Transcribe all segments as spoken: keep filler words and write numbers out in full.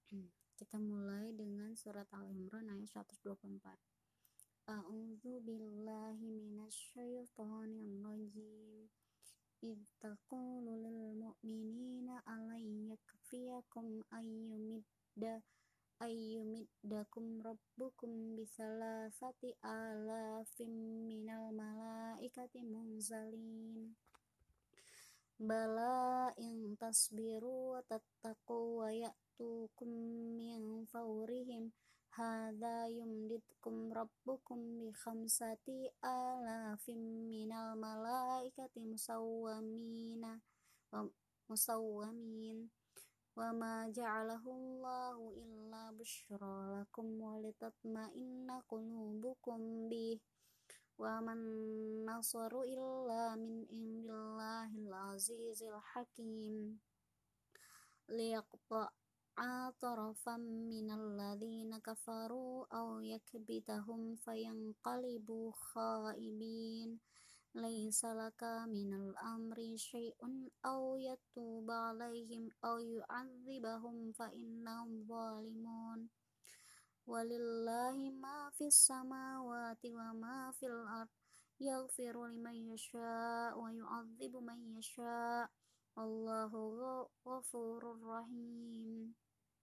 Kita mulai dengan surat Al-Imran ayat seratus dua puluh empat. A'udzu billahi minasyaitonir rajim. Idz taqulu lil mu'minina alay yakfiyakum ayyumidda ayyumiddakum rabbukum bisalasati alafim minal malaikati munzalin. Bala in tasbiru wa tattaqu wa ya'tukum min fawrihim hadza yumditkum rabbukum bi khamsati alafim minal malaikati musawwamina wa musawwamin wa ma ja'alahu Allahu illa busyra lakum wa litatma'inna qulubukum bih wa man nasaru illa min indillahil azizil hakim liyaqta'a tarafan minal ladzina kafaru aw yakbitahum fayanqalibu khaibin laisa laka minal amri syai'un aw yatuba 'alaihim aw yu'adzibahum fa innahum zalimun. Walillahi ma fis samawati wa ma fil ard yaghfiru liman yasha wa yu'adzibu man yasha wallahu ghafurur rahim.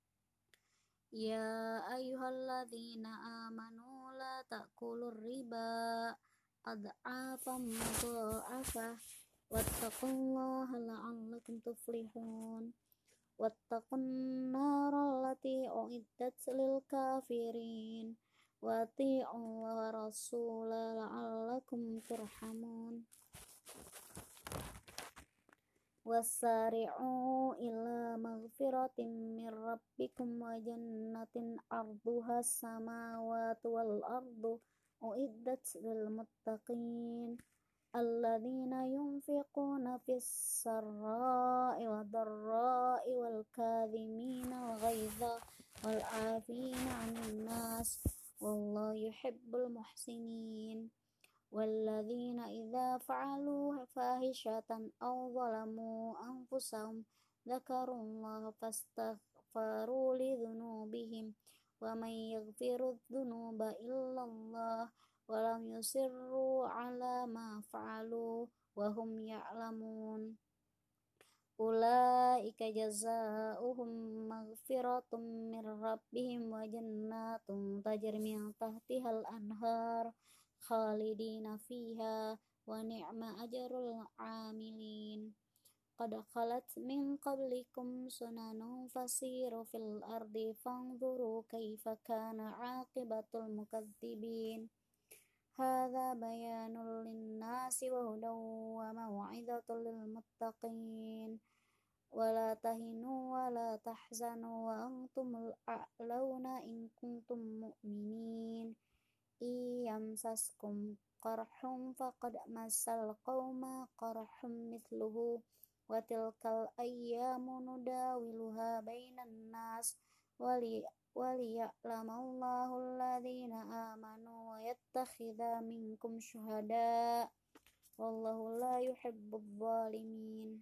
Ya ayyuhalladzina amanu la ta'kulur riba ad'afan mudha'afah wattaqullaha la'allakum tuflihun. Wattaqun naral lati uiddat lil kafirin wa ati'ullaha rasulah la'allakum turhamun. Wasari'u ila maghfiratin min rabbikum wa jannatin arduha samawati wal ardu uiddat lil muttaqin alladzina yunfiquna fis sarra'i wad dharra'i wal kadhimina al ghaidha wal 'afina 'anil nas wallahu yuhibbul muhsinin. Walladzina idza fa'alu fahishatan aw zalamu anfusahum dzakarullaha fastaghfaru lidzunubihim wa may yaghfiru dzunuba illallah wa lam yusirru 'ala ma fa'alu wa hum ya'lamun. Ulaika jazaohum maghfiratum mir rabbihim wa jannatun tajri min tahtihal anhar khalidina fiha wa ni'ma ajrul 'amilin. Qad khalat min qablikum sunanun fasiru fil ardi fanzuru kaifa kana 'aqibatul mukadzibin. Hadza bayanul linnasi wa hudaw wa mau'izatul lil muttaqin. Wala tahinu wala tahzanu wa antumul a'launa in kuntum mu'minin. Iyamsaskum qarhum faqad massal qauma qarhum mithluhu wa tilkal ayyamu nudawiluha bainan nas wali waliya'lamallahu alladhina amanu wa yattakhidha minkum syuhada wallahu la yuhibbudz zalimin.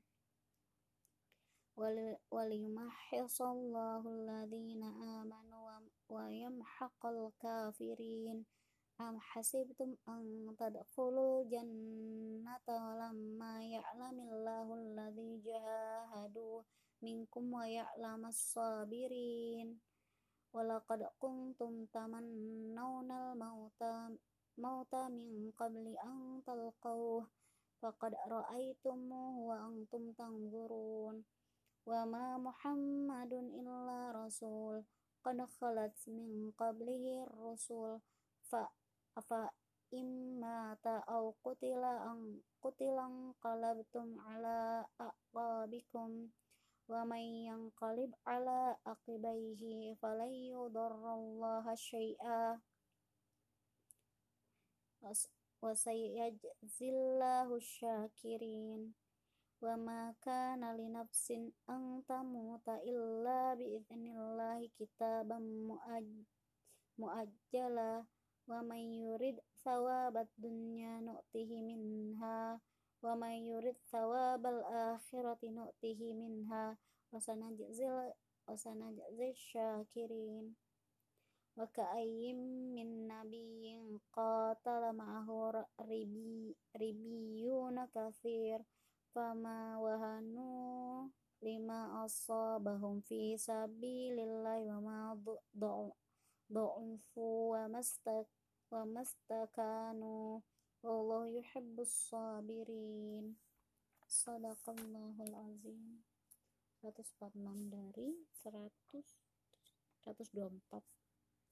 Waliyumahhisallahu alladhina amanu wa yamhaqal kafirin. Am hasibtum an tadkhulul jannata walamma ya'lamillahu alladhi jahadu minkum wa ya'lamas sabirin. Walaqad kuntum tamannawna al-mauta mauta min qabli an talqawhu faqad ra'aytumuhu wa antum tanzurun. Wa ma Muhammadun illa rasul qad khalat min qablihi ar-rusul fa afa imma ta'aw qutila an qutilan qalabtum ala aqabikum wa may yanqalib ala aqibaihi falan yudarrallaha syai'a wa sayajzillahu syakirin. Wa ma kana li nafsin an tamuta illa bi idznillah kitaban muajjala wa may yurid thawabad dunya nu'tihi minha wa may yurid thawabal akhirati nu'tihi minha wa sanajzil wa sanajzi syakirin. Wa ka'ayyim min nabiyyin qatala ma'ahu ribi ribiyuna katsir fama wahanu lima asabahum fi sabilillahi wa ma du'ufu wa mastak wa mastakanu wallahu yuhibbus sabirin. Shadaqallahul azim. seratus empat puluh enam dari seratus seratus dua puluh empat.